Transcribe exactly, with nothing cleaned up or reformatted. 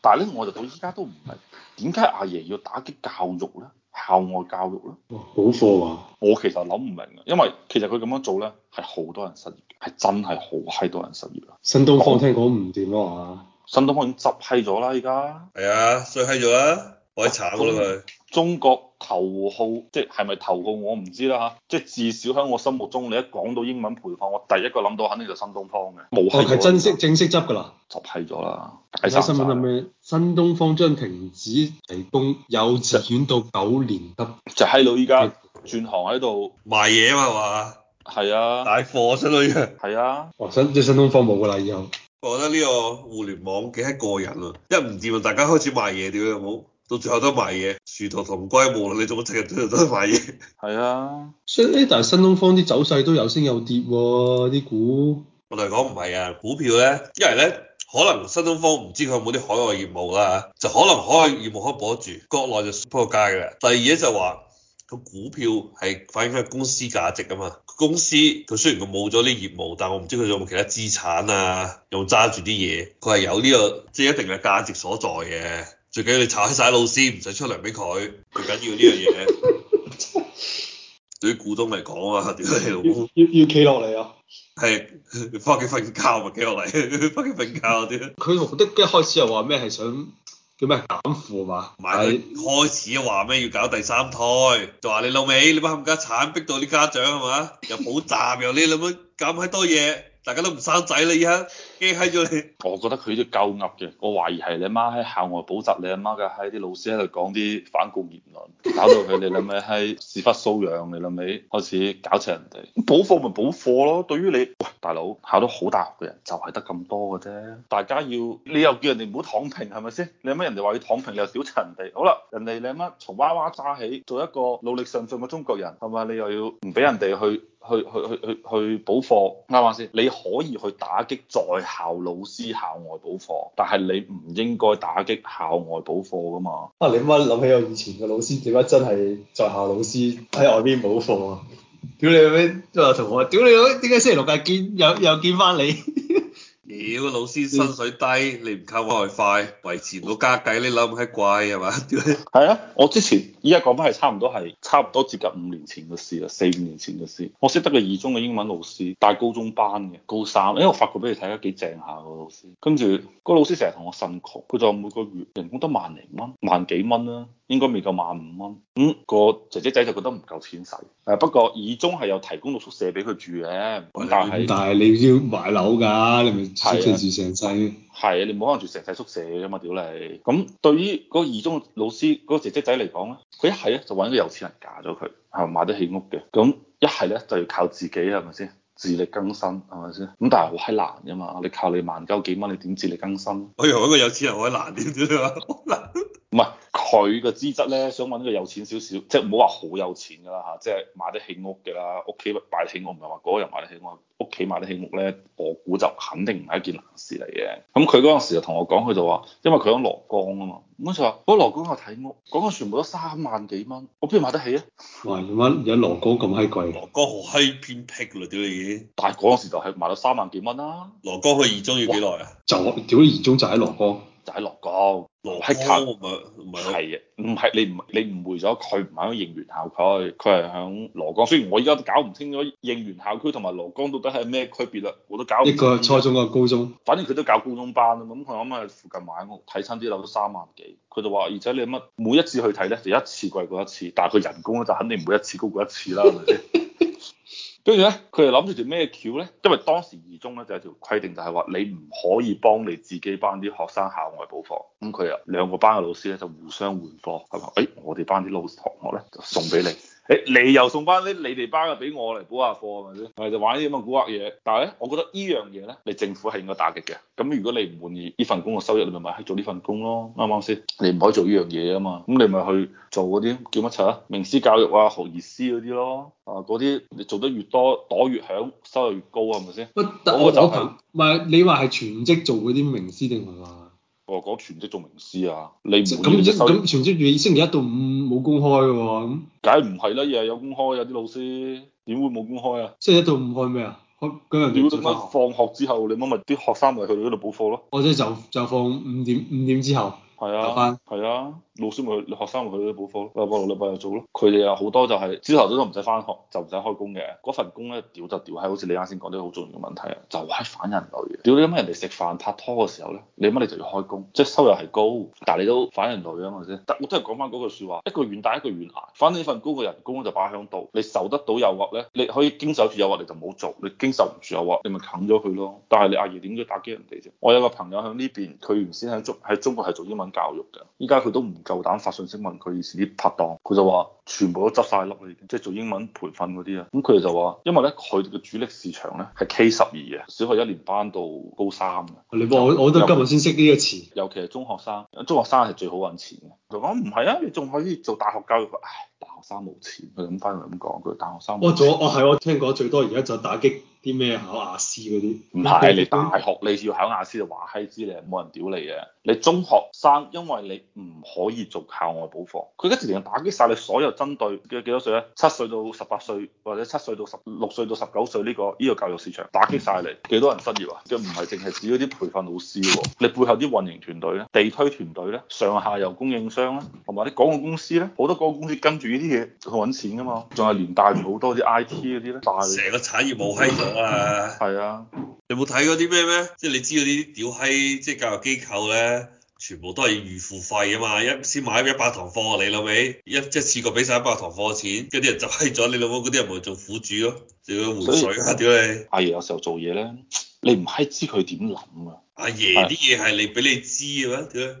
但係咧，我就到依家都唔明點解阿爺要打擊教育咧，校外教育咧。 哇，補課啊！ 我其實諗唔明啊，因為其實佢咁樣做咧，係好多人失業，係真係好閪多人失業啊。 新東方聽講唔掂啊嘛， 新東方已經執閪咗啦，依家係啊，衰閪咗啦，好閪慘噶啦佢。 中國頭號，即係係咪頭號我唔知啦嚇，即係至少喺我心目中，你一講到英文培訓，我第一個諗到肯定就新東方嘅，冇哦， 閪咗。 係正式正式執㗎啦。 執閪咗啦， 睇解散新聞係曬。 咩？新東方將停止提供幼稚園到九年級。 就閪佬依家轉行喺度賣嘢啊嘛嘛， 係啊， 帶貨相當於。 係啊， 哇！新即係新東方冇㗎啦，以後。 我覺得呢個互聯網幾閪過癮啊！一唔掂啊，大家開始賣嘢，屌有冇？到最後都賣嘢，殊途同歸，無論你做乜柒，最後都係賣嘢。 係啊， 所以誒，但係新東方啲走勢都有升有跌喎，啲股。 我同你講唔係啊，股票咧，因為咧可能新東方唔知佢有冇啲海外業務啦，就可能海外業務可以保得住，國內就撲街嘅啦。第二嘢就話個股票係反映翻公司價值啊嘛，公司佢雖然佢冇咗啲業務，但我唔知佢有冇其他資產啊，有冇揸住啲嘢，佢係有呢個即係一定嘅價值所在嘅。最緊要你炒起晒老師，唔使出糧俾佢，最緊要呢樣嘢。對於股東嚟講啊，屌你老母， 要要企落嚟啊！ 係翻屋企瞓覺咪企落嚟，翻屋企瞓覺啲。 佢目的一開始又話咩係想叫咩減負嘛？ 唔係佢開始話咩要搞第三胎，就話你老味，你班冚家鏟逼到啲家長係嘛，又補習又你諗乜咁閪多嘢，大家都唔生仔啦，而家驚閪咗你。 我覺得佢都夠噏嘅，我懷疑係你阿媽喺校外補習，你阿媽嘅喺啲老師喺度講啲反共言論，搞到佢哋諗起喺屎忽騷癢，你諗起開始搞柒人哋。補課咪補課咯，對於你喂大佬考到好大學嘅人就係得咁多嘅啫，大家要你又叫人哋唔好躺平係咪先？你阿媽人哋話要躺平，你又屌柒人哋，好啦，人哋你阿媽從娃娃揸起做一個努力上進嘅中國人係咪？你又要唔俾人哋去？去去去去去補課啱唔啱先？你可以去打擊在校老師校外補課，但係你唔應該打擊校外補課噶嘛。 啊！你乜諗起我以前嘅老師點解真係在校老師喺外邊補課啊？屌你老味，即係同我屌你老味，點解星期六日見又又見翻你？ 屌老師薪水低，你唔靠外快維持唔到家計，你諗係貴係嘛？屌你！ 係啊，我之前依家講翻係差唔多係差唔多接近五年前嘅事啦，四五年前嘅事。我識得個二中嘅英文老師，帶高中班嘅高三，因為我發覺俾你睇下幾正下個老師。跟住個老師成日同我呻窮，佢就每個月人工得萬零蚊，萬幾蚊啦，應該未夠萬五蚊。咁、嗯、個姐姐仔就覺得唔夠錢使。誒不過二中係有提供到宿舍俾佢住嘅，咁但係但係你要買樓㗎，你咪宿舍住成世。 係啊，你冇可能住成世宿舍㗎嘛，屌你！咁對於嗰個二中老師嗰、嗰個姐姐仔嚟講咧，佢一係咧就揾個有錢人嫁咗佢，係買得起屋嘅。咁一係咧就要靠自己，係咪先？自力更生係咪先？咁但係好閪難㗎嘛，你靠你萬鳩幾蚊，你點自力更生？ 我以為揾個有錢人好難啲，屌你話好難。 唔係佢嘅資質咧，想揾個有錢少少，即係唔好話好有錢㗎啦嚇，即係買得起屋嘅啦，屋企買得起屋，唔係話嗰個人買得起屋，屋企買得起屋咧，我估就肯定唔係一件難事嚟嘅。咁佢嗰陣時就同我講，佢就話，因為佢喺蘿崗啊嘛，咁就話嗰蘿崗我睇屋，嗰個全部都三萬幾蚊，我邊度買得起啊？ 哇！點解而家蘿崗咁閪貴？ 蘿崗好閪偏僻啦，屌你已經。 但係嗰陣時就係賣到三萬幾蚊啦。 蘿崗去二中要幾耐啊？ 就屌你二中就喺蘿崗。 就喺蘿崗， 蘿喺近， 崗唔係唔係係啊，唔係你唔你誤會咗，佢唔係喺應元校區，佢係喺蘿崗。雖然我依家都搞唔清楚應元校區同埋蘿崗到底係咩區別啦，我都搞唔清。 一個係初中，一個高中， 反正佢都教高中班啊嘛，咁佢啱啱喺附近買屋，睇親啲樓都三萬幾，佢就話，而且你乜每一次去睇咧，就一次貴過一次，但係佢人工咧就肯定唔會一次高過一次啦，係咪先？跟住咧，佢哋諗住條咩橋咧？因為當時二中咧就有條規定，就係話你唔可以幫你自己班啲學生校外補課。咁佢啊兩個班嘅老師咧就互相換課，係嘛？誒、哎，我哋班啲老同學咧就送俾你，誒、哎，你又送翻啲你哋班嘅俾我嚟補下課，係咪先？係就玩啲咁嘅古惑嘢。但係咧，我覺得呢樣嘢咧，你政府係應該打擊嘅。咁如果你唔滿意呢份工嘅收入，你咪咪去做呢份工咯，啱唔啱先？你唔可以做呢樣嘢啊嘛。咁你咪去做嗰啲叫乜柒啊？名師教育啊、學而思嗰啲咯。啊，嗰啲你做得越多，朵越響，收入越高，係咪先？ 我我就係唔係你話係全職做嗰啲名師定係話？ 我講全職做名師啊，你唔咁滿意收咁全職月星期一到五冇公開喎，咁梗係唔係啦？日日有公開，有啲老師點會冇公開啊？ 星期一到五開咩啊？ 開嗰陣屌你就乜放學之後，你乜咪啲學生咪去到嗰度補課咯？ 或者就就放五點五點之後。 係啊就翻， 係啊，老師咪去，學生咪去嗰啲補課咯，禮拜六禮拜日做咯。佢哋有好多就係朝頭早都唔使翻學，就唔使開工嘅。嗰份工咧，屌就屌喺好似你啱先講啲好重要嘅問題啊，就係反人類嘅。屌你乜人哋食飯拍拖嘅時候咧，你乜你就要開工，即係收入係高，但係你都反人類啊嘛先。但我都係講翻嗰句説話，一個願打一個願挨。反正呢份高嘅人工就擺喺度，你受得到誘惑咧，你可以經受住誘惑你就唔好做，你經受唔住誘惑你咪啃咗佢咯。但係你阿爺點解打擊人哋啫？我有個朋友喺呢邊，佢原先喺中喺中國係做英文教育嘅。而家佢都唔夠膽發信息問佢以前啲拍檔，佢就話全部都執晒笠啦，已經即係做英文培訓嗰啲啊。咁佢哋就話，因為咧佢哋嘅主力市場咧係 K 十二嘅，小學一年班到高三嘅。 你幫我，我都今日先識呢個詞。 尤其係中學生，中學生係最好揾錢嘅。就講唔係啊，你仲可以做大學教育。唉，大學生冇錢，佢咁翻嚟咁講，佢大學生冇錢。 我做，我係我聽講最多而家就打擊啲咩考雅思嗰啲。 唔係你大學你要考雅思就話閪知你，冇人屌你嘅。你中學生因為你唔可以做校外補課，佢而家直情打擊晒你所有針對嘅幾多歲咧？七歲到十八歲或者七歲到十六歲到十九歲呢個呢個教育市場打擊晒你，幾多人失業啊？即唔係淨係指嗰啲培訓老師喎，你背後啲運營團隊咧、地推團隊咧、上下游供應商咧，同埋啲廣告公司咧，好多廣告公司跟住呢啲嘢去揾錢噶嘛，仲係連帶住好多啲 I T 嗰啲咧，帶成個產業冇閪咗啊！ 係啊， 你冇睇嗰啲咩咩？即係你知嗰啲屌閪，即係教育機構咧，全部都係預付費啊嘛！一先買一百堂課，你老味一一次過俾晒一百堂課錢，跟啲人就閪咗，你老母嗰啲人咪做苦主咯，仲要回水啊！屌你！ 阿爺有時候做嘢咧，你唔閪知佢點諗啊！ 阿爺啲嘢係你俾你知嘅咩？屌！